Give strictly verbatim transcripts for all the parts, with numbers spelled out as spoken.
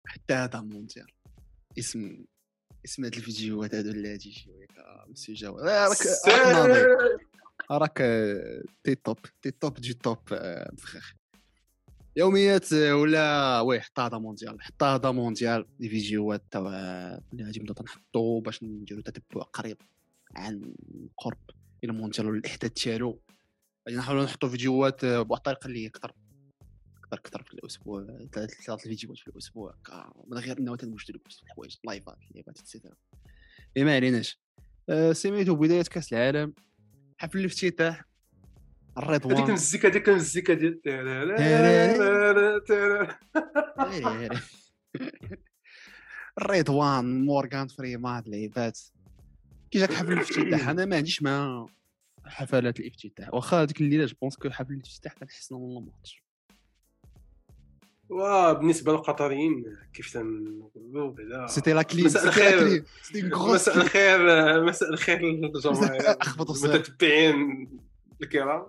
حتى هذا مونديال اسم اسم هاد الفيديوهات هادو اللي هادي شويه مسيو جواد راك راك ناضي راك تي توب تي توب دي توب بخير يوميات ولا وي حتى هذا مونديال حتى هذا مونديال دي فيديوهات تاع اللي غادي نبداو نحطو باش نديرو تتبع قريب عن قرب الى مونديال والاحداث ديالو. غادي نحاولوا نحطوا فيديوهات بواحد الطريقه اللي اكثر اكثر اكثر في الاسبوع ثلاث ثلاث فيديوهات في الاسبوع من غير انه تنوجدوا في الحوايج لايفات لعبات اكسترا. ما عليناش. سميتو بدايه كاس العالم حفل الافتتاح الرضوان هذيك المزيكا هذيك المزيكا ديال الرضوان مورغان فريمان لعبات كي جاك حفل الافتتاح. انا ما عنديش مع حفلات الافتتاح واخا هذيك الليله جو بونس كو حفل الافتتاح كنحسنا من الماتش. وبالنسبه للقطريين كيف تنقولوا بعدا سيتي لا كليم مساء الخير سيتي غروس مساء الخير مساء الخير للجماهير المتتبعين الكرام.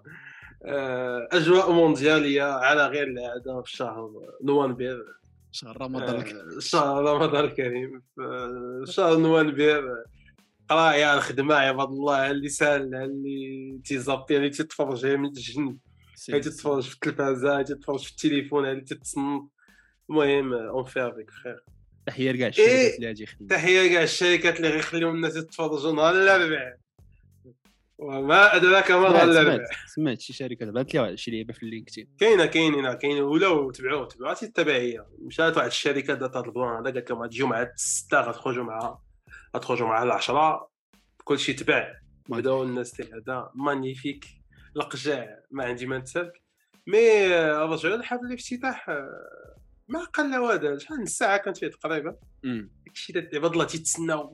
اجواء موندياليه على غير العاده في شهر نوفمبر شهر رمضان شهر رمضان الكريم في شهر نوفمبر قرايه الخدمه عباد الله اللي سال اللي تيزابطي اللي تتفرج من الجن هاي تتفرج في التلفازه هاي تتفرج في التليفون هاي تتصنت. المهم اون في افيك خير. تحيه لكاع الشركات اللي غادي يخدموا تحيه لكاع الشركات اللي غيخليو الناس يتفرجوا نهار الاربعاء وما ادراك ما نهار الاربعاء. سمعت شي شركه بانت لي شي لعبه في اللينكدين كاينه كاينين كاين ولاو تبعوه تبعات التبعيه. مشات واحد الشركه دات هذا البلان هذا قالت لهم غتجيو مع الستة غتخرجوا معها غتخرجوا مع العشرة كلشي تبع بداو الناس تاع هذا مانيفيك لقجع ما عندي ما نتسالك. مي رجعوا لحفل الافتتاح ما قل هذا شحال الساعه كانت فيه تقريبا داكشي دات عباد الله تيتسناو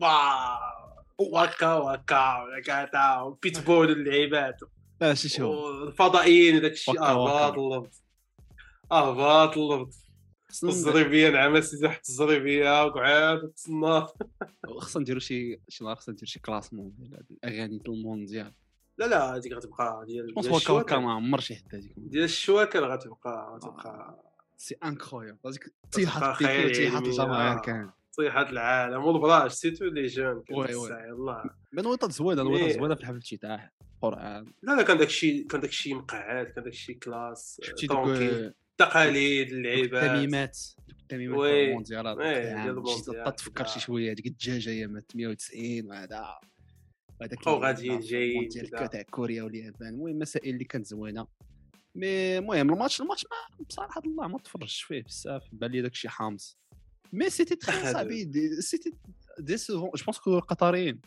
واكا واكا كاتا بيتبول اللعيبات لا شي شو الفضائيين داكشي اهباط اللفظ اهباط اللفظ الزريبيه نعم سيدي واحد الزريبيه وقعاد تسنى. خصنا نديرو شي شي نهار خصنا ندير شي كلاسمون ديال الاغاني ديال المونديال. لا لا هذيك غتبقى ديال ديال الشواكه ما عمر شي حد هذيك ديال الشواكه غتبقى غتبقى سي انكرويبل هذيك طيحات طيحات الجماهير كان طيحات العالم والبراج سيتو لي جون وي وي يلاه من وطات زوينه نوطات زوينه في الحفل الافتتاح قران. لا لا كان داكشي كان داكشي مقعد كان داكشي كلاس طونكي تقاليد اللعيبات التميمات التميمات وي المونديالات وي تفكر شي شويه ديك الدجاجه هي ثمانية وتسعين وهذا هذاك او غاديين جايين تاع كوريا واليابان. المهم مسائل اللي كانت زوينه. مي المهم الماتش الماتش ما بصراحه الله ما تفرجش فيه بزاف بان لي داكشي حامص. مي سيتي تري صعيب سيتي ديسيفون جو بونس كو القطريين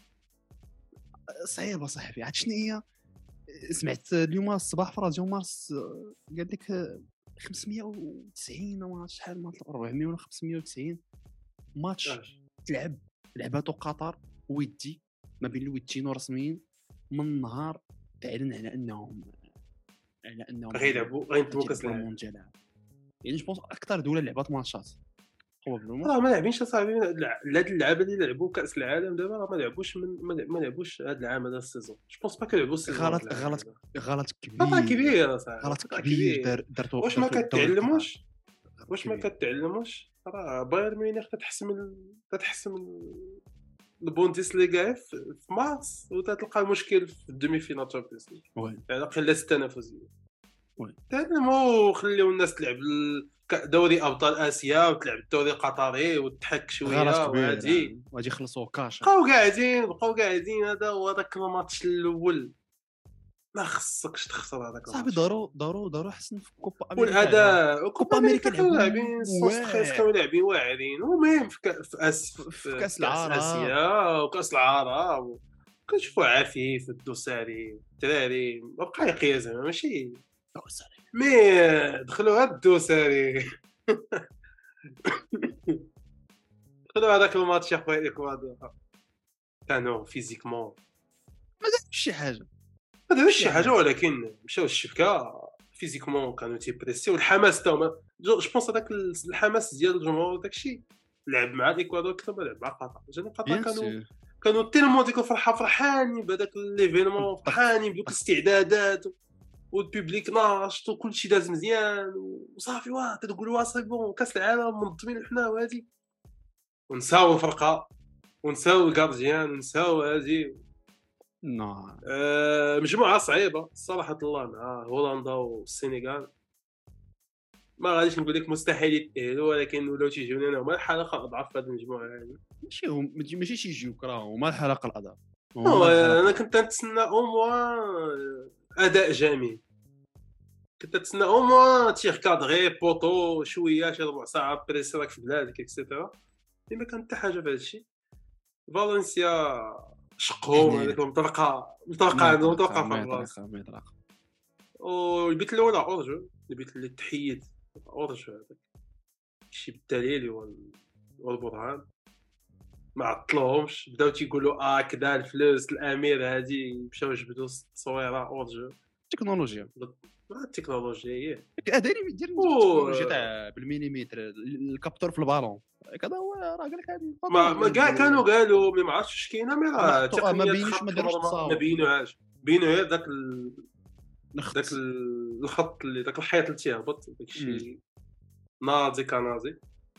صعيبه صاحبي. عاد شنو هي سمعت اليوم الصباح في راديو مارس قال لك خمسمية وتسعين ولا شحال ما أربعمية ولا خمسمية وتسعين ماتش تلعب لعباتو قطر ودي ما بين الوديين ورسميين من نهار تعلن على انهم على انهم غيلعبوا غينطبوا كاس العالم. يعني جو بونس اكثر دوله لعبات ماتشات راه ما لاعبينش صاحبي هاد اللعابه اللي لعبوا كاس العالم دابا راه ما لعبوش من ما لعبوش هاد العام هذا السيزون. جو بونس با كيلعبوا السيزون. غلط غلط غلط كبير غلط كبير صاحبي غلط كبير درتو. واش ما كتعلموش واش ما كتعلموش راه بايرن ميونخ كتحسم كتحسم البوندسليغا في مارس وتلقى المشكل في الدومي فينال تشامبيونز ليغ على الاقل التنافسيه. وي تعلموا خليو الناس تلعب دوري ابطال اسيا وتلعب الدوري القطري وتحك شويه وعادي وغادي يخلصوا كاش بقاو قاعدين بقاو قاعدين. هذا هو داك الماتش الاول ما خصكش تخسر هذاك صاحبي. دارو دارو دارو حسن في كوبا امريكا والاداء كوبا امريكا لاعبين ستريس كانوا لاعبين واعرين. المهم في كاس في كاس العالم اسيا وكاس العرب كنشوفوا عفيف الدوساري الدراري ما بقى يقيا زعما ماشي دوساري مي دخلوا هاد الدوساري دخلوا هذاك الماتش يا خويا الاكوادور كانوا فيزيكمون ما دارش شي حاجه ما دارش شي حاجه ولكن مشاو الشبكه فيزيكمون كانوا تيبريسيو والحماس تاعهم جو بونس هذاك الحماس ديال الجمهور داكشي لعب مع الاكوادور اكثر ما لعب مع قطر. جاني قطر كانوا كانوا تيلمون ديك الفرحه فرحانين بهذاك ليفينمون فرحانين بدوك الاستعدادات والبوبليك ناشط وكلشي داز مزيان وصافي واه تقول واه سي بون كاس العالم منظمين حنا وهادي ونساو الفرقه ونساو الكارديان ونساو هادي. نو أه مجموعه صعيبه صراحه الله مع هولندا والسنغال. ما غاديش نقول لك مستحيل يتأهلوا ولكن ولاو تيجيو لنا هما الحلقه الاضعف في هذه المجموعه هذه. ماشي هم ماشي تيجيوك راه هما الحلقه الاضعف. انا كنت نتسنى او موان اداء جميل كنت نتسنى او موان تيغ كادغي بوطو شويه شي ربع ساعه بريسي راك في بلادك اكسيتيرا. ما كان حتى حاجه في هذا الشيء. فالنسيا شقهم هذيك المطرقه المطرقه عندهم مطرقه في الراس والبيت الاولى اورجو البيت اللي تحيد اورجو هذاك شي بالدليل والبرهان ما عطلوهمش بداو تيقولوا اه كذا الفلوس الامير هادي مشاو جبدوا تصويره اورجو تكنولوجيا التكنولوجيا هي اداري دير التكنولوجيا تاع بالمليمتر الكابتور في البالون كذا هو راه قال لك هذه ما كاع كانوا قالوا ما عرفتش واش كاينه مي راه التقنيه ما بينوش ما داروش ما بينوهاش بينو غير داك ال... داك الخط اللي داك الحيط اللي تيهبط داكشي ناضي كناضي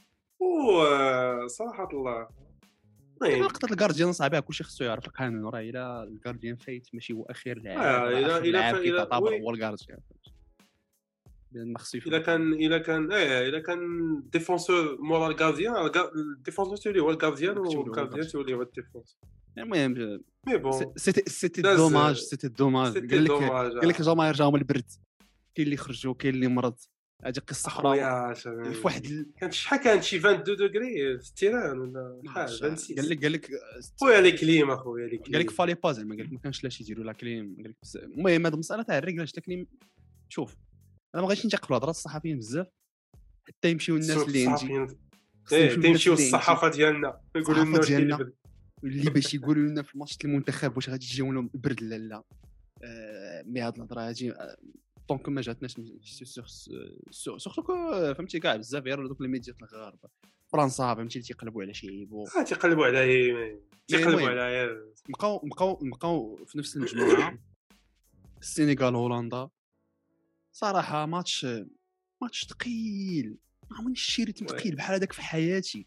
وصراحه الله لقطه الجارديان صعيبه كلشي خصو يعرف القانون راه الا الجارديان فايت ماشي هو اخير لاعب الا الا الا تعتبر هو الجارديان لان خصو الا كان الا كان ايه الا كان ديفونسور مورا الجارديان الديفونسور تولي هو الجارديان والجارديان تولي هو الديفونس. المهم مي بون سيتي سيتي دوماج سيتي دوماج قال لك قال لك الجماهير جاهم البرد كاين اللي خرجوا كاين اللي مرض هذه قصه اخرى في واحد كانت شحال كانت شي اثنين وعشرين دوغري في التيران ولا شحال خمسة وستين قال لك قال لك خويا لي كليم اخويا لي كليم قال لك فالي با زعما قال لك ما كانش لاش يديروا لا كليم قال لك المهم هذه المساله تاع الرجل اش تكليم شوف انا ما بغيتش نتقبل هضره الصحفيين بزاف حتى يمشيو الناس اللي عندي ايه تمشيو الصحافه ديالنا يقولوا لنا واش كاين اللي باش يقولوا لنا في ماتش المنتخب واش غادي يجيو لهم البرد لا لا آه مي هاد الهضره هادي دونك ما جاتناش سورتو فهمتي كاع بزاف غير دوك الميديات الغرب فرنسا فهمتي تيقلبوا على شيب اه تيقلبوا على تيقلبوا على بقاو بقاو بقاو في نفس المجموعه السنغال هولندا صراحه ماتش ماتش ثقيل ما عمرني شريت ثقيل بحال هذاك في حياتي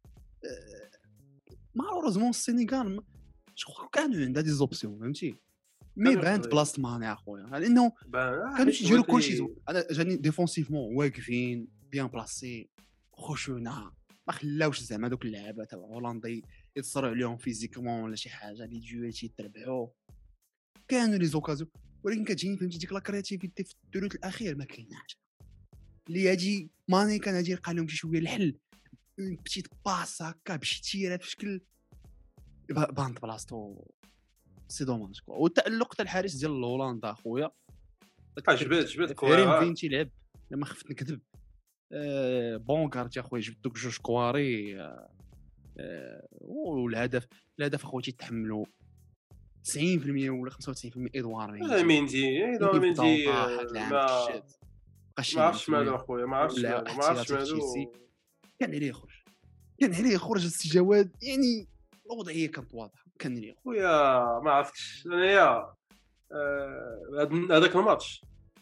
ما اورزمون السنغال شكون كانوا عندها دي زوبسيون فهمتي مي باند بلاصه مانع اخويا لانه كانوا يجيروا كلشي انا جاني ديفونسيفمون واقفين بيان بلاسي خشونه ما خلاوش زعما دوك اللعابه تاع هولندا يتصروا عليهم فيزيكمون ولا شي حاجه لي جوال تيتربعوا كانوا لي زوكازيون ولكن كتجيني فهمتي ديك لا كرياتيفيتي في الثلث الاخير ما كايناش اللي هادي ماني كان هادي لقى لهم شي شويه الحل بتيت باس هكا بشي تيره في شكل باند بلاصتو سي دوماج كو والتالق تاع الحارس ديال هولندا اخويا جبد جبد كوريم فين تيلعب لما خفت نكذب أه بونكارت يا خويا جبت دوك جوج كواري أه والهدف الهدف اخويا تيتحملوا تسعين بالمية ولا خمسة وتسعين بالمية ادوار ميندي ادوار ميندي ما عرفتش مالو اخويا ما عرفتش مالو ما عرفتش مالو كان عليه يخرج كان عليه يخرج السي جواد يعني الوضعيه كانت واضحه كان عليه خويا ما عرفتش انايا هذاك الماتش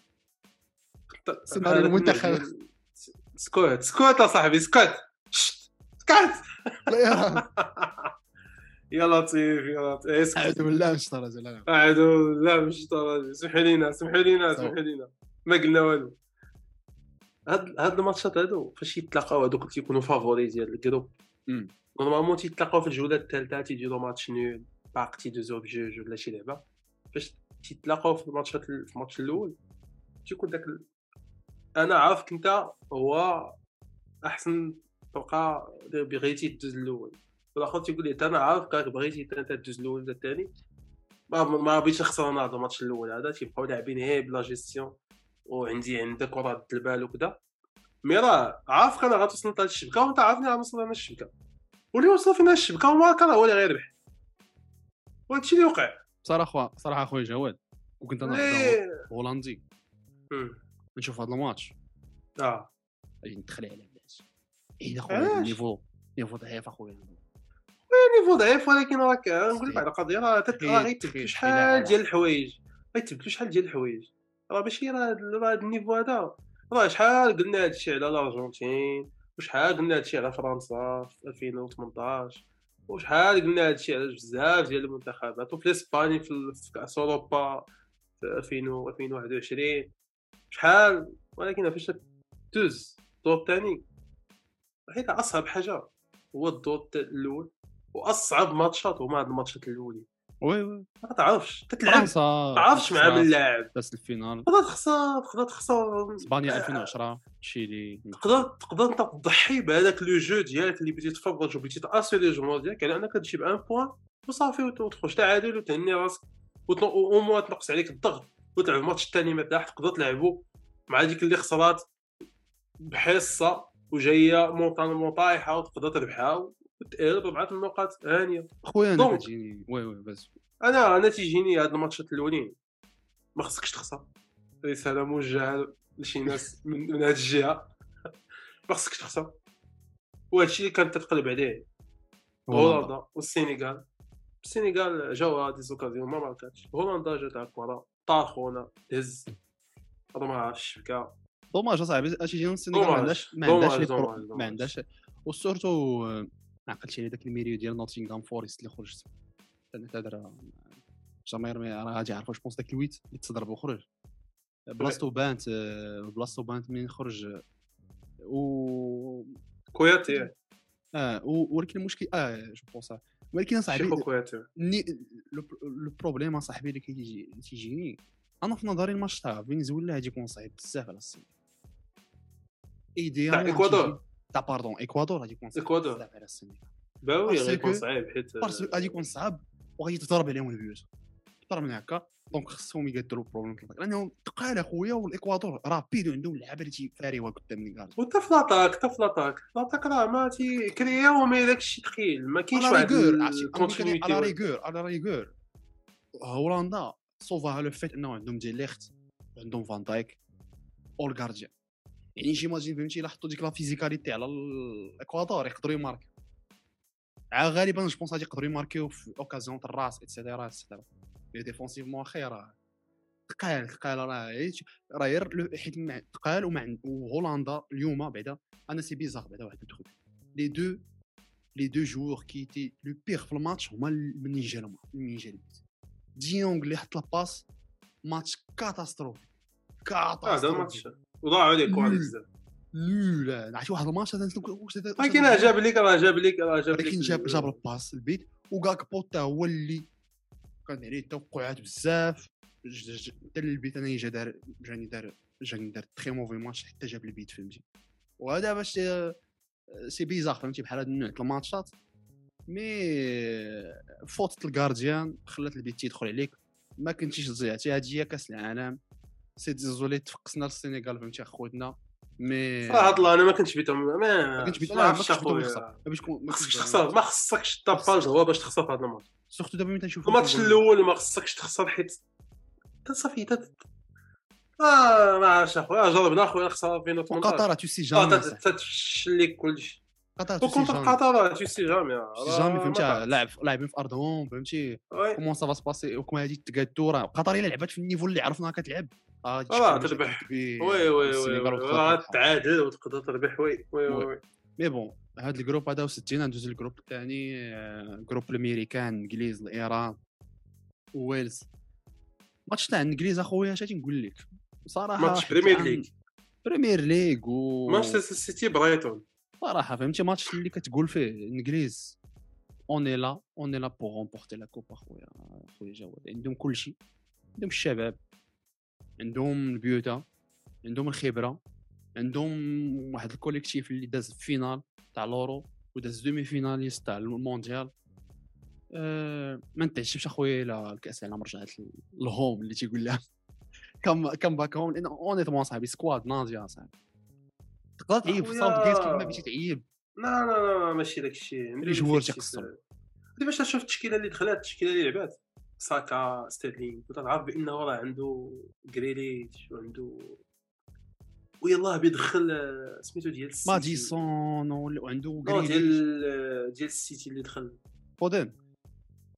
سمع المنتخب سكوت سكوت يا صاحبي سكوت سكوت يا لطيف يا لطيف اعوذ بالله من الشيطان الرجيم اعوذ بالله من الشيطان الرجيم سمحوا لينا سمحوا لينا سمحوا لينا ما قلنا والو. هاد هاد الماتشات هادو فاش يتلاقاو هادوك تيكونوا فافوري ديال الجروب نورمالمون تيتلاقاو في الجوله الثالثه تيديروا ماتش نول باقتي دو زو بجوج ولا شي لعبه فاش تيتلاقاو في الماتشات في الماتش الاول تيكون داك ال... انا عارفك انت هو احسن فرقه بغيتي تدوز الاول والاخر تيقول لي انا عارفك بغيتي انت تدوز الاول ولا الثاني ما ما بغيتش نخسر انا هذا الماتش الاول هذا تيبقاو لاعبين هي بلا جيستيون وعندي عندك كره البال وكذا مي راه عارفك انا غتوصل لهاد الشبكه وانت عارفني غنوصل انا الشبكه واللي وصل فينا الشبكه وما كان هو اللي غيربح وهادشي اللي وقع صراحه صراحه اخويا جواد وكنت انا هولندي نشوف هذا الماتش اه غادي ندخل على الناس اين اخويا النيفو نيفو ضعيف اخويا نيفو ضعيف ولكن راك نقول لك على قضيه راه غيتبدلوا شحال ديال الحوايج غيتبدلوا شحال ديال الحوايج راه ماشي راه راه هاد النيفو هذا راه شحال قلنا هادشي على الارجنتين وشحال قلنا هادشي على فرنسا في ألفين وثمنطاش وشحال قلنا هادشي على بزاف ديال المنتخبات وفي اسبانيا في ال- في كاس اوروبا في ألفين و ألفين وواحد وعشرين شحال ولكن فاش دوز الدور الثاني حيت اصعب حاجه هو الدور الاول واصعب ماتشات هما هاد الماتشات الاولين وي وي ما تعرفش تتلعب فرنسا ما تعرفش مع من لاعب بس الفينال تقدر تخسر تقدر تخسر اسبانيا ألفين وعشرة تشيلي تقدر تقدر انت تضحي بهذاك لو جو ديالك اللي بغيتي تفرج وبغيتي تاسيري الجمهور ديالك على انك تجيب ان بوين وصافي وتخرج تعادل وتهني راسك او موا تنقص عليك الضغط وتلعب الماتش الثاني مرتاح تقدر تلعبوا مع ديك اللي خسرات بحصه وجايه مونطان مطايحه وتقدر تربحها وتقلب بربعه النقاط هانيه. خويا انا دونك كتجيني وي وي بس انا انا تيجيني هاد الماتشات الاولين ما خصكش تخسر. رساله موجهه لشي ناس من, من هاد الجهه ما خصكش تخسر وهادشي اللي كانت تتقلب عليه هولندا والسينغال. السينغال جاوا دي زوكازيون ما ماركاتش هولندا جات على الكره طاخونا دز هذا ما عرفتش الشبكه دوماج اصاحبي اش يجينا السينغال ما عندهاش ما عندهاش ما عندهاش وسورتو ما عقلتش على داك الميريو ديال نوتينغهام فورست اللي خرج انا تهضر جماهير راه غادي يعرفوا واش داك الويت اللي تضرب وخرج بلاصتو بانت بلاصتو بانت منين خرج و كوياتي اه ولكن المشكل اه جو بونس ولكن صاحبي كوياتي لو بروبليم صاحبي اللي كيجي تيجيني انا في نظري الماتش تاع فنزويلا غادي يكون صعيب بزاف على الصين ايديا تاع اكوادور تاع باردون اكوادور غادي يكون صعيب اكوادور على الصين باوي غادي يكون صعيب حيت غادي يكون صعب وغادي تضرب عليهم البيوت ضرب من هكا دونك خصهم يقدروا البروبليم لانهم ثقال اخويا والاكوادور رابيد عندهم لعابه اللي تيفاريوا قدام الكارت وتا في لاطاك تا في لاطاك لاطاك راه ما تي كرياو ما داكشي ثقيل ما كاينش واحد الكونتينيتي على ريغور على ريغور هولندا صوفاها لو فيت انه عندهم دي ليخت عندهم فان دايك او الغارديان يعني جيماجين فهمتي الا حطوا ديك لا فيزيكاليتي على الاكوادور يقدروا يماركيو غالبا جو بونس غادي يقدروا يماركيو في اوكازيون تاع الراس ايتترا ايتترا لي ديفونسيفمون خير ثقال ثقال راه راه غير حيت ثقال ومع هولندا اليوم بعدا انا سي بيزار بعدا واحد الدخول لي دو لي دو جوور كي تي لو بيغ في الماتش هما منين جالهم منين جا ديونغ اللي حط الباس ماتش كاتاستروفي كاتاستروفي هذا الماتش وضاعوا عليك واحد بزاف لا عرفتي واحد الماتش هذا واش هذا ولكن جاب لك راه جاب لك راه جاب لك ولكن جاب جاب الباس البيت وكاك بوتا هو اللي كان عليه توقعات بزاف حتى البيت انا جا دار جاني دار جاني دار تري موفي ماتش حتى جاب البيت فهمتي وهذا باش سي بيزار فهمتي بحال هاد النوع تاع الماتشات مي فوت الغارديان خلات البيت تيدخل عليك ما كنتيش تضيعتي هادي هي كاس العالم سي ديزولي تفقسنا للسنغال فهمتي اخوتنا مي صراحه الله انا ما كنتش بيتهم ما كنتش بيتهم ما كنتش باش ما خصكش تخسر ما خصكش طاباج هو باش تخسر في هذا الماتش سورتو دابا ملي تنشوف الماتش الاول ما خصكش تخسر حيت صافي تا اه ما عرفتش اخويا جربنا اخويا خساره في وثمنطاش قطر تو سي جامي تتفشل لك كلشي قطر تو سي جامي قطر تو سي جامي جامي فهمتي لاعب لاعبين في ارضهم فهمتي كومون سا فا سباسي وكما هادي تقادو راه قطر الا لعبات في النيفو اللي عرفناها كتلعب اه تربح وي وي وي تعادل وتقدر تربح وي وي وي مي بون هاد الجروب هذا وستين ندوز الجروب الثاني جروب الامريكان الانجليز الايران وويلز ماتش تاع الانجليز اخويا اش تنقول لك صراحه ماتش بريمير ليغ بريمير ليغ و مانشستر سيتي برايتون صراحه فهمتي ماتش اللي كتقول فيه الانجليز اوني لا اوني لا بور رومبورتي لا كوب اخويا اخويا جواد عندهم كل شيء عندهم الشباب عندهم البيوتا عندهم الخبره عندهم واحد الكوليكتيف اللي داز فينال تاع لورو وداز دومي فيناليست تاع المونديال أه ما نتعشمش اخويا الى الكاس العالم رجعت الهوم اللي تيقول لها كم كم باك هوم لان اونيتمون صاحبي سكواد ناضيه صاحبي تقدر تعيب في صوت جيت كيما بغيتي تعيب لا لا لا ماشي داكشي ملي جوار تيقصر دابا باش تشوف التشكيله اللي دخلات التشكيله اللي لعبات ساكا ستيرلينغ وتعرف بانه راه عنده غريليتش وعنده ويلاه بيدخل سميتو ديال السيتي ماديسون وعنده غريليتش ديال ديال السيتي اللي دخل فودن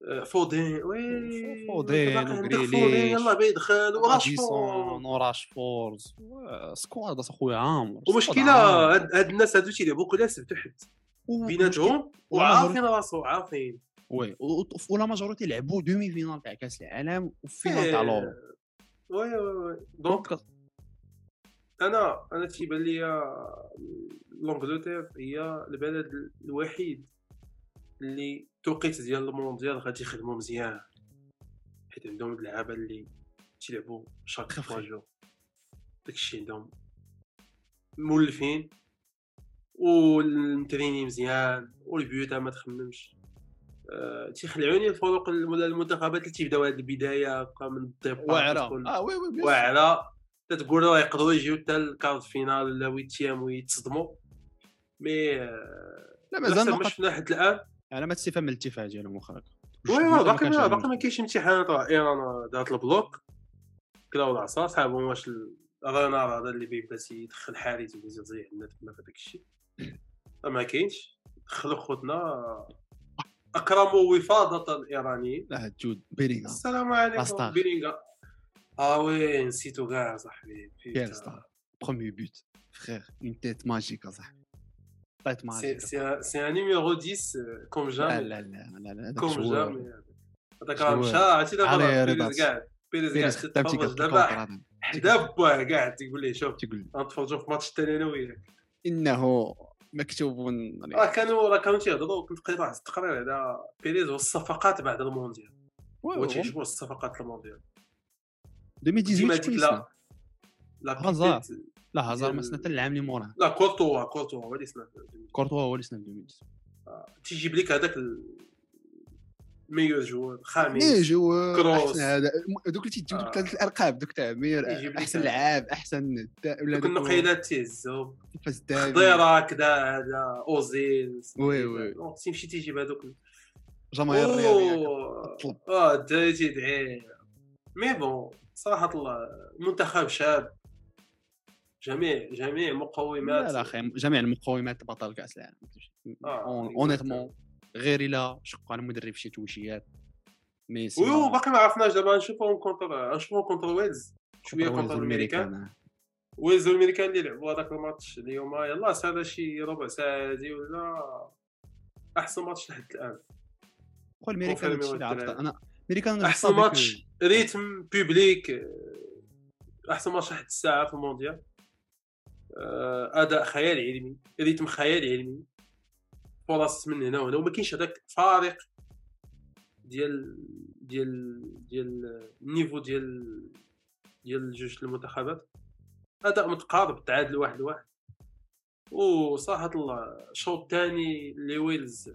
فودين وي فودين وغريليش يلاه بيدخل وراشفورد وراشفورد سكواد اخويا عامر. ومشكله هاد الناس هادو تيلعبوا كلاس تحت بيناتهم وعارفين راسو عارفين وي ولا ماجوريتي لعبوا دومي فينال تاع كاس العالم وفينال تاع لورو. وي وي دونك انا انا تيبان ليا لونجلتير هي البلد الوحيد اللي توقيت ديال المونديال غادي يخدموا مزيان، حيت عندهم اللعابه اللي تيلعبوا شاك ثلاثة جور، داكشي عندهم مولفين والمتريني مزيان والبيوتا ما تخممش. أه تيخلعوني الفروق المنتخبات اللي تيبداو هاد البدايه هكا من الديبار واعره اه وي وي واعره تتقول راه يقدروا يجيو حتى الكارت فينال ولا ويتيام ويتصدموا مي أه لا مازال ما شفنا حتى الان. انا ما تستفهم الاتفاق ديالهم واخا وي باقي باقي ما كاينش امتحانات. راه ايران دارت البلوك كلاو العصا صاحبهم واش الرنار هذا اللي بيبدا يدخل حارس ويزيد زي عندنا تما في داك الشيء ما كاينش. دخلوا خوتنا اكرموا وفاضه الايرانيين. لا جود بيرينغا السلام عليكم بيرينغا. اه وي نسيتو كاع صاحبي كاين ستار بروميير بوت فخير اون تيت ماجيك صاحبي طيت ماجيك سي سي ان نيميرو عشرة كوم جامي. لا لا لا لا كوم جامي هذاك راه مشى عرفتي دابا بيريز كاع بيريز كاع تتفرج دابا حدا باه كاع تيقول ليه شوف غنتفرجوا في ماتش الثاني انا وياك انه مكتوب. راه كانوا راه كانوا تيهضروا كنت قريت واحد التقرير على بيريز والصفقات بعد المونديال وتيعجبوا الصفقات المونديال ألفين وثمانية عشر. لا لا هازار لا هازار ما سنه العام اللي موراه. لا كورتوا كورتوا هو اللي سنه كورتوا هو اللي سنه ألفين وثمانية. تيجيب لك هذاك ميور جوار خامس ميور جوار كروس هذا دوك اللي تيجيو دوك ثلاث الالقاب دوك تاع ميور احسن لعاب احسن ولا دوك النقيلات تيهزوا فاز دابي خضيره كذا هذا اوزيل وي وي تمشي تيجيب هذوك جماهير الرياضيه طلب اه الدراري تيدعي مي بون صراحه الله منتخب شاب جميع جميع مقومات. لا لا اخي جميع المقومات بطل كاس العالم اونيتمون غير الا شق على المدرب شي توشيات مي سي وي باقي ما عرفناش دابا نشوفوهم كونتر نشوفوهم كونتر ويلز شويه كونتر الامريكان ويلز الامريكان اللي لعبوا هذاك الماتش اليوم يلاه هذا شي ربع ساعه هادي ولا احسن ماتش لحد الان. قول الامريكان هادشي اللي عرفت انا امريكان احسن ماتش ريتم بوبليك احسن ماتش لحد الساعه في المونديال. اداء خيال علمي ريتم خيال علمي فرص من هنا وهنا وما كاينش هذاك فارق ديال ديال ديال النيفو ديال ديال جوج المنتخبات. اداء متقارب تعادل واحد لواحد وصراحه الله الشوط الثاني اللي ويلز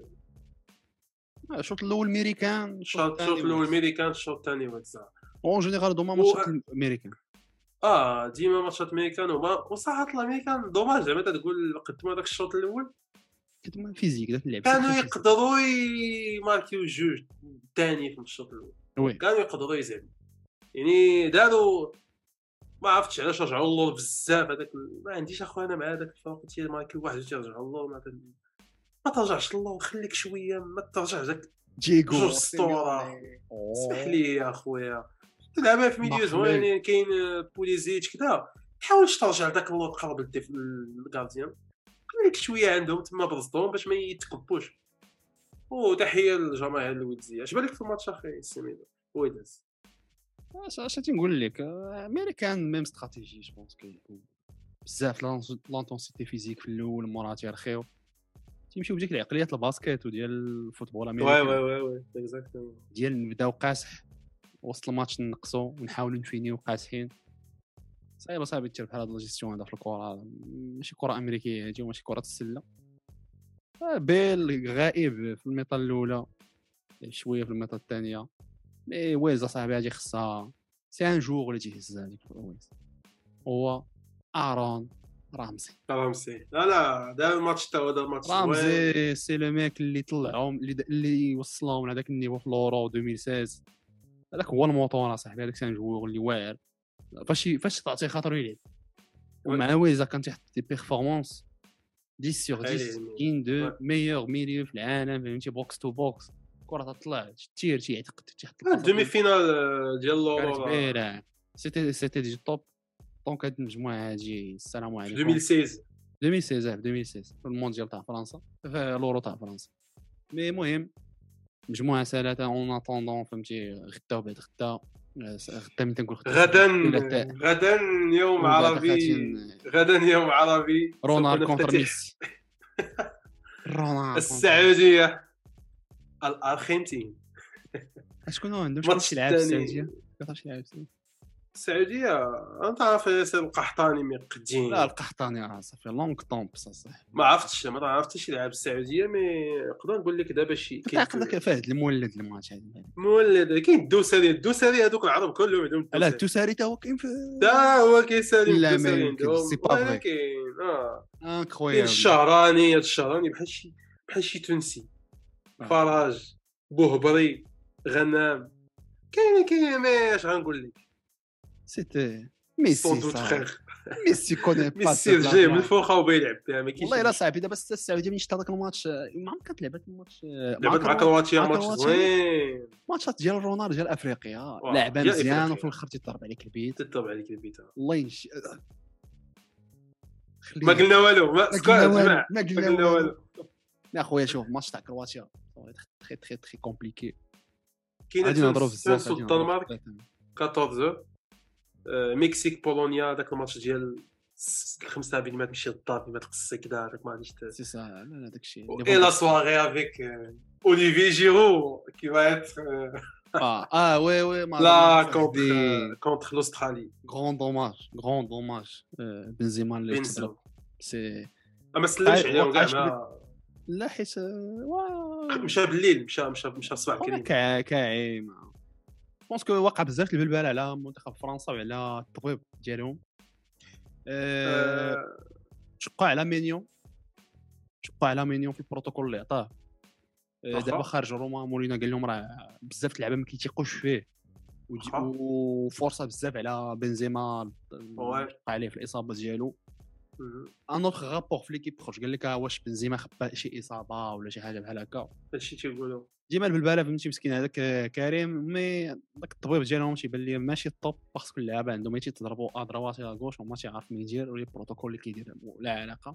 الشوط الاول امريكان الشوط الاول امريكان الشوط الثاني ويلز اون جينيرال دوما ماتشات الامريكان اه ديما ماتشات امريكان وما وصراحه الامريكان دوماج زعما تقول قدموا هذاك الشوط الاول كتما فيزيك داك اللعب كانوا يقدروا يماركيو جوج الثاني في الشوط الاول كانوا يقدروا يزعموا يعني داروا ما عرفتش علاش رجعوا اللور بزاف هذاك ما عنديش اخويا انا مع هذاك الفرق تي ماركيو واحد جوج يرجعوا اللور ما, ما ترجعش اللور خليك شويه ما ترجعش داك دييغو جوج اسطوره اسمح لي يا اخويا تلعبها في ميديو زوين كاين بوليزيتش كذا حاولش ترجع داك اللور قرب الكارديان خليك شويه عندهم تما برصدهم باش ما يتكبوش. وتحيه للجماهير الويلزيه. اش بالك في الماتش اخي سميدو ويلز واش اش تنقول لك امريكان ميم استراتيجي جو بونس كيكون بزاف لانتونسيتي فيزيك في الاول مورا تيرخيو تيمشيو بديك العقليات الباسكيت وديال الفوتبول الامريكي وي وي وي اكزاكتومون ديال نبداو قاسح وسط الماتش نقصوا ونحاولوا نفينيو قاسحين صعيبه صعيبه تير بحال هاد لاجيستيون هذا في الكره ماشي كره امريكيه هادي وماشي كره السله. بيل غائب في الميطال الاولى شويه في الميطال الثانيه مي ويلز صاحبي هادي خصها سي ان جور اللي تيهزها هذيك ويلز هو ارون رامسي رامسي لا لا دار الماتش تا هو دار الماتش رامسي سي لو ميك اللي طلعهم اللي اللي وصلهم لهذاك النيفو في لورو ألفين وستة عشر هذاك هو الموطور صاحبي هذاك سي ان جور اللي واعر فاش فاش تعطيه خاطر يلعب ومع ويلز كان تيحط دي بيرفورمانس عشرة سور عشرة كاين دو ميور ميليو في العالم فهمتي بوكس تو بوكس الكره تطلع تير تيعتقد تحت الدومي فينال ديال لورو كبيره سيتي سيتي دي توب. دونك هاد المجموعه هادي السلام عليكم ألفين وستة عشر ألفين وستة عشر ألفين وستة عشر في المونديال تاع فرنسا في لورو تاع فرنسا. مي المهم مجموعه سالات اون اتوندون فهمتي غدا وبعد غدا غدا من تنقول غدا غدا يوم عربي غدا يوم عربي رونالدو كونتر ميسي رونالدو السعوديه الارجنتين. شكون عندهم شكون يلعب السعوديه كيفاش يلعب السعوديه انت عارف ياسر القحطاني مقدين. لا القحطاني راه صافي لونغ طومب صح ما عرفتش ما عرفتش يلعب السعوديه. مي نقدر نقول لك دابا شي كيف فهد المولد الماتش هذا مولد كاين الدوسري الدوسري هذوك العرب كلهم عندهم لا الدوسري حتى هو كاين في دا هو كيسالي لا الدوسري ما عندهم سي با فري كاين اه انكرويابل الشهراني الشهراني بحال شي بحال شي تونسي فراج بوهبري غنام كاين كاين ماش غنقول لك سيتي ميسي صح ميسي كوني با ميسي جاي من الفوق وبيلعب بها ما كاينش والله الا صعيبي دابا السعوديه ملي شتا داك الماتش ما عمرك لعبت الماتش لعبت مع كرواتيا ماتش زوين ماتشات ديال رونالدو ديال افريقيا لعبه مزيان وفي الاخر تيضرب عليك البيت تضرب عليك البيت الله ينش ما قلنا والو ما قلنا ما قلنا والو يا خويا شوف ماتش تاع كرواتيا تري تري تري كومبليكي كاين نهضروا بزاف على الدنمارك أربعطاش مكسيك بولونيا داك الماتش ديال خمسة بينات ماشي الضاد ما تقصي كذا داك ما غاديش سي صح لا داك الشيء اي لا سواري افيك اوليفي جيرو كي va être اه اه وي وي لا كونتر كونتر الاسترالي غران دوماج غران دوماج بنزيما اللي تضرب سي ما سلمش عليهم كاع لا حيت مشى بالليل مشى مشى مشى الصباح كريم كاعي بونسكو واقع بزاف البلبال على منتخب فرنسا وعلى الطبيب ديالهم. أه... شقوا على مينيون شقوا على مينيون في البروتوكول اللي عطاه. أه دابا خارج روما مولينا قال لهم راه بزاف اللعابه ما كيتيقوش فيه وفرصه بزاف على بنزيما وقع عليه في الاصابه ديالو. ان اوتر رابور في ليكيب خرج قال لك واش بنزيما خبا شي اصابه ولا شي حاجه بحال هكا هادشي تيقولوا ديما البلباله فهمتي مسكين هذاك كريم. مي داك الطبيب ديالهم تيبان لي ماشي الطوب باسكو اللعابه عندهم تيضربوا ادروات على غوش وما تيعرف مين يدير ولا البروتوكول اللي كيدير لا علاقه.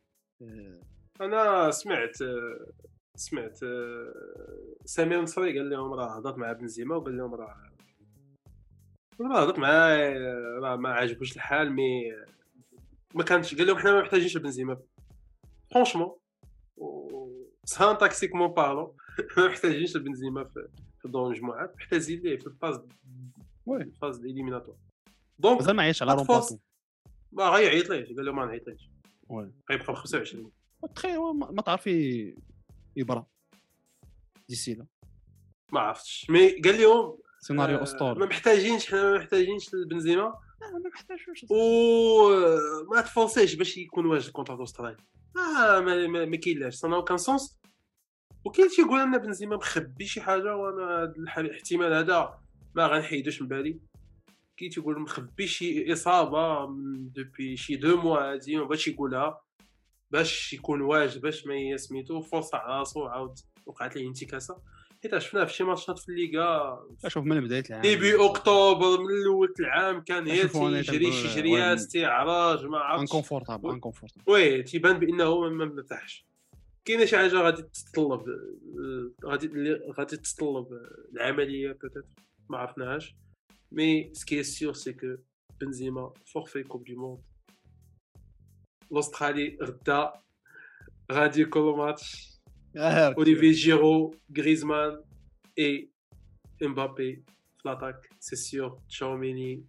انا سمعت سمعت سمير نصري قال لهم راه هضرت مع بنزيما وقال لهم راه راه هضرت معاه راه ما عجبوش الحال مي ما كانش قال لهم حنا ما محتاجينش بنزيما فرانشمون سان تاكسيكمون بارلو ما محتاجينش بنزيما في في دور المجموعات محتاجين ليه في الفاز وي الفاز الاليميناتور دونك مازال ما عيطش على رومباسون ما غيعيط ليه قال له ما نعيطليش وي غيبقى ب خمسة وعشرين تخي ما تعرف يبرا ديسي لا ما عرفتش مي قال لهم سيناريو اسطوري ما محتاجينش حنا ما محتاجينش بنزيما ما محتاجوش و ما تفونسيش باش يكون واجد كونتر استراليا اه ما ما, ما كاينلاش صنعوا كان سونس. وكاين تيقول لنا بنزيما مخبي شي حاجه وانا الاحتمال هذا ما غنحيدوش من بالي. كي تيقول مخبي شي اصابه من دوبي شي دو موا هادي باش يقولها باش يكون واجد باش ما يسميتو فرصه على راسو عاود وقعت ليه انتكاسه حيت شفناه في شي ماتشات في الليغا. شوف من بدايه العام ديبي اكتوبر من الاول العام كان غير تيجري شي جريات تيعرج ما عرفتش انكونفورتابل انكونفورتابل وي تيبان بانه ما مرتاحش. كاينه شي حاجه غادي تتطلب غادي غادي تتطلب العمليه بوتيت ما عرفناهاش مي سكي سيور سي كو بنزيما فورفي كوب دي موند الاسترالي غدا غادي كل ماتش اوليفي جيرو غريزمان اي امبابي في لاتاك سي سيور تشاوميني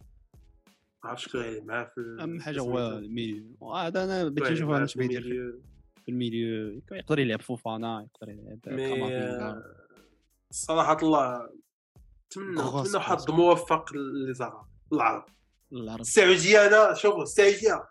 عرفت شكون غادي معاه في اهم حاجه هو الميليو هذا انا بغيت نشوف انا اش بيدير في الميليو يقدر يلعب فوفانا يقدر يلعب كامافينغا. صراحه الله نتمنى نتمنى حظ موفق للزهراء العرب السعوديه. انا شوفوا السعوديه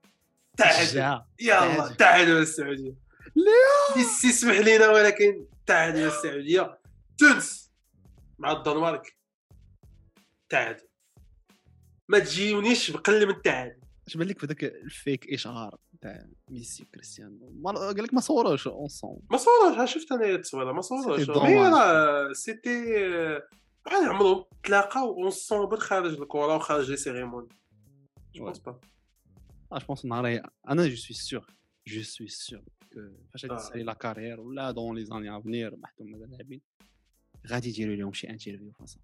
تعال يلا تعالوا السعوديه لا يسمح لينا ولكن تعالوا السعوديه. تونس مع الدنمارك تعال ما تجيونيش بقل من تعال اش بان لك في ذاك الفيك اشهار تاع ميسي كريستيانو قال لك ما صوروش اونصون ما صوروش شفت انا التصويره ما صوروش مي راه سيتي بحال عمرهم تلاقاو اونصون خارج الكره وخارج لي سيريموني جو بونس با اش بونس نهار انا جو سوي سيغ جو سوي سيغ فاش تسالي لا كارير ولا دون لي زاني افنير محتوم هذا لاعبين غادي يديروا لهم شي انترفيو فاصا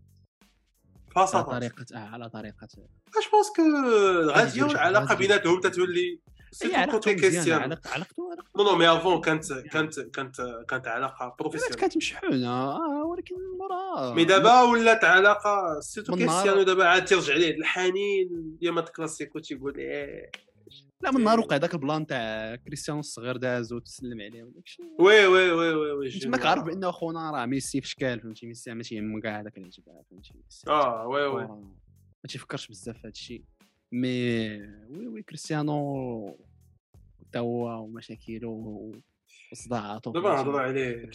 فاصا على طريقه اه على طريقه اش بونس كو غادي العلاقه بيناتهم تتولي سي كوتي كيستيان علاقته نو نو مي افون كانت كانت كانت كانت علاقه بروفيسيونيل كانت مشحونه ولكن مرا مي دابا ولات علاقه سيتو كيستيانو دابا عاد ترجع ليه الحنين ديال مات كلاسيكو تيقول ايه لا من نهار وقع داك البلان تاع كريستيانو الصغير داز وتسلم عليه وداكشي وي وي وي وي وي انت ما كعرف بانه خونا راه ميسي في شكال فهمتي ميسي ماشي يهم كاع داك العجب فهمتي اه وي وي ما تيفكرش بزاف هذا الشيء مي وي وي كريستيانو تا هو ومشاكله وصداعاته دابا نهضروا عليه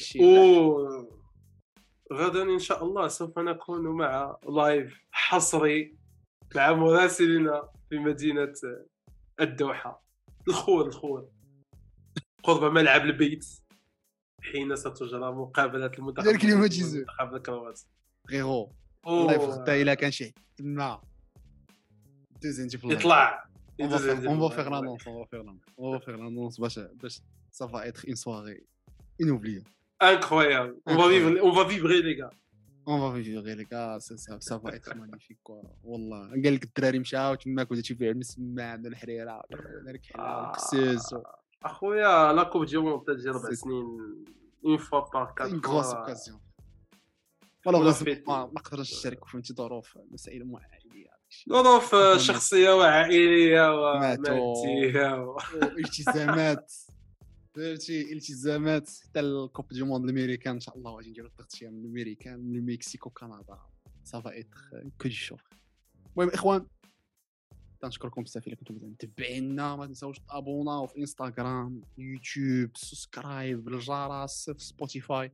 و غدا ان شاء الله سوف نكون مع لايف حصري مع مراسلنا في مدينه الدوحه الخور الخور قرب ملعب البيت حين ستجرى مقابله المنتخب ديال كلمه جيزو المنتخب الكرواتي غيرو الله يفختا الا كان شي تما دوزنتي في يطلع on va faire l'annonce on va faire l'annonce on va faire l'annonce باش باش ça va être une soirée inoubliable incroyable on va vivre on va vibrer les gars on va vivre les gars ça ça, ça va être magnifique quoi والله قال لك الدراري مشاو تماك ولا تيبيع المسمى من الحريره الكسوس اخويا لا كوب دي موند تجي اربع سنين اون فوا بار كات une grosse occasion والله ما نقدرش نشارك فهمتي ظروف مسائل عائليه ظروف شخصيه وعائليه وماديه والتزامات فهمتي التزامات حتى الكوب دي موند الامريكان ان شاء الله غادي نديرو التغطيه من الامريكان من المكسيك وكندا صافا اتر كو دي شوف المهم اخوان تنشكركم بزاف الا كنتم متابعينا ما تنساوش تابوناو في انستغرام يوتيوب سبسكرايب بالجرس في سبوتيفاي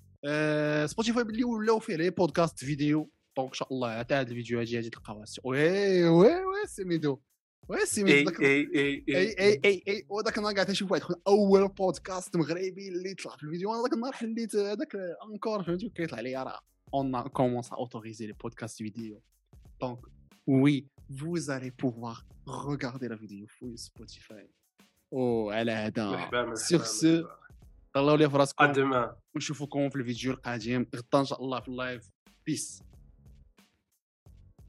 أه سبوتيفاي باللي ولاو فيه لي بودكاست فيديو دونك ان شاء الله حتى هاد الفيديو هادي غادي تلقاوها وي وي وي سميدو وي سميدو داك اي اي اي اي اي اي وداك النهار قاعد نشوف واحد اول بودكاست مغربي اللي طلع في الفيديو انا داك النهار حليت هذاك انكور فهمتي كيطلع لي راه اون كومونس ا اوتوريزي لي بودكاست فيديو دونك وي vous allez pouvoir regarder la vidéo sur Spotify او على هذا سيغ سو طلعوا لي فراسكم ونشوفكم في الفيديو القادم غدا ان شاء الله في اللايف بيس